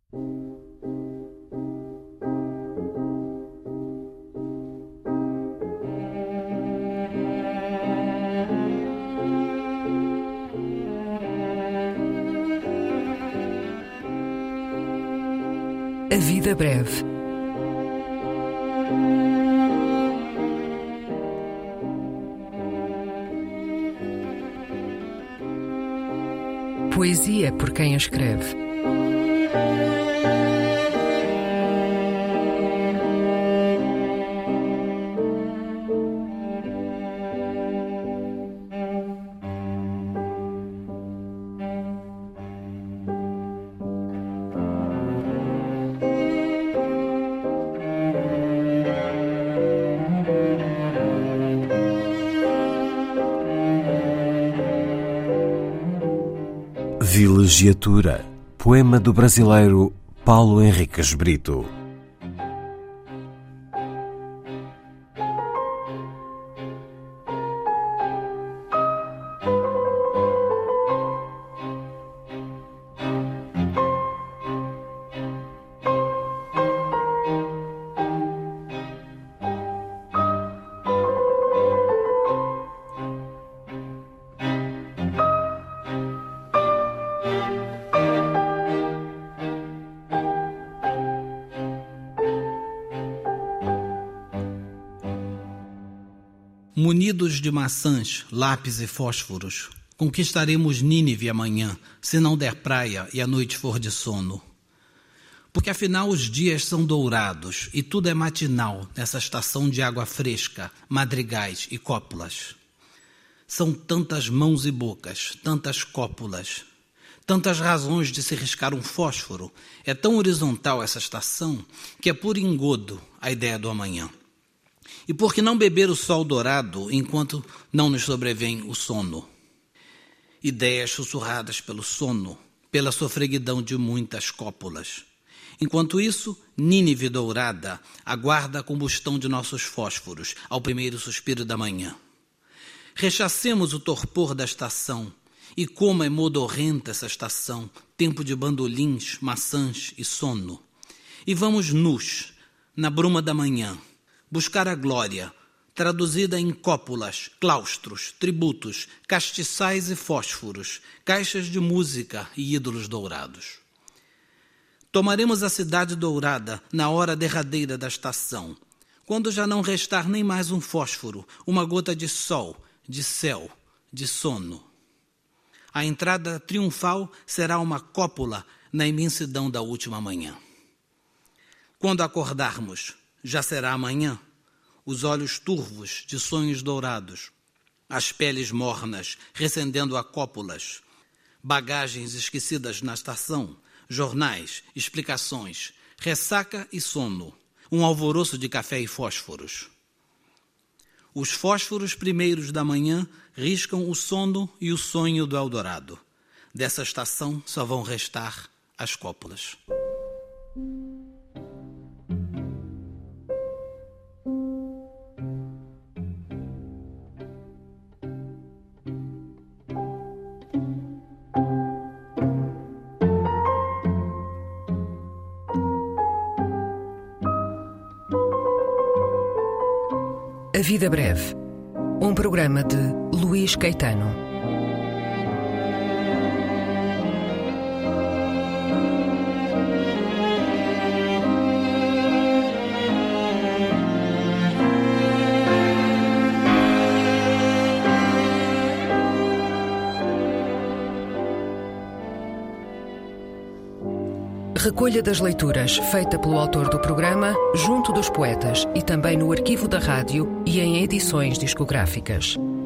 A vida breve. Poesia por quem a escreve. Vilegiatura, poema do brasileiro Paulo Henriques Brito. Munidos de maçãs, lápis e fósforos, conquistaremos Nínive amanhã, se não der praia e a noite for de sono. Porque afinal os dias são dourados e tudo é matinal nessa estação de água fresca, madrigais e cópulas. São tantas mãos e bocas, tantas cópulas, tantas razões de se riscar um fósforo. É tão horizontal essa estação que é por engodo a ideia do amanhã. E por que não beber o sol dourado enquanto não nos sobrevém o sono? Ideias sussurradas pelo sono, pela sofreguidão de muitas cópulas. Enquanto isso, Nínive dourada aguarda a combustão de nossos fósforos ao primeiro suspiro da manhã. Rechacemos o torpor da estação, e como é modorrenta essa estação, tempo de bandolins, maçãs e sono. E vamos nus, na bruma da manhã, buscar a glória, traduzida em cópulas, claustros, tributos, castiçais e fósforos, caixas de música e ídolos dourados. Tomaremos a cidade dourada na hora derradeira da estação, quando já não restar nem mais um fósforo, uma gota de sol, de céu, de sono. A entrada triunfal será uma cópula na imensidão da última manhã. Quando acordarmos, já será amanhã, os olhos turvos de sonhos dourados, as peles mornas recendendo a cópulas, bagagens esquecidas na estação, jornais, explicações, ressaca e sono, um alvoroço de café e fósforos. Os fósforos primeiros da manhã riscam o sono e o sonho do Eldorado. Dessa estação só vão restar as cópulas. A Vida Breve, um programa de Luís Caetano. Recolha das leituras feita pelo autor do programa, junto dos poetas e também no arquivo da rádio e em edições discográficas.